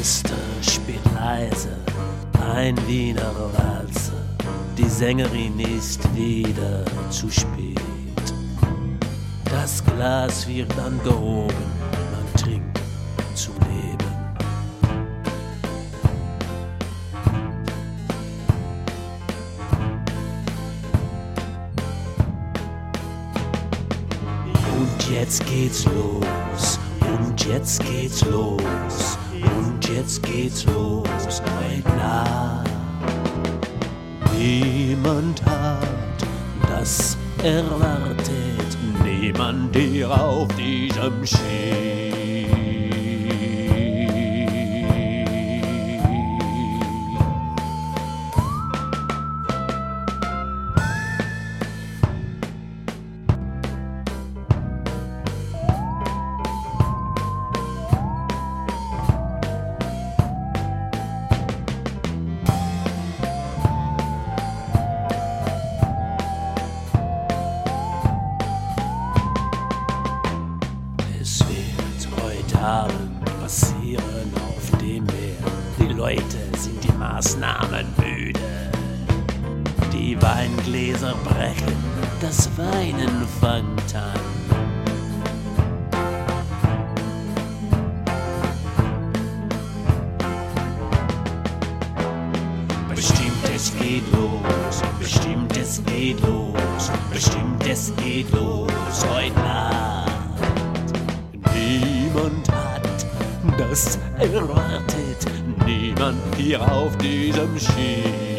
Orchester spielt leise ein Wiener Walzer. Die Sängerin ist wieder zu spät. Das Glas wird angehoben, man trinkt zum Leben. Und jetzt geht's los, und jetzt geht's los, und jetzt geht's los heute Nacht. Niemand hat das erwartet, niemand hier auf diesem Schiff. Es wird heute Abend passieren auf dem Meer. Die Leute sind die Maßnahmen müde. Die Weingläser brechen, das Weinen fängt an. Bestimmt es geht los, bestimmt es geht los, bestimmt es geht los heute Nacht. Niemand hat das erwartet, niemand hier auf diesem Schiff.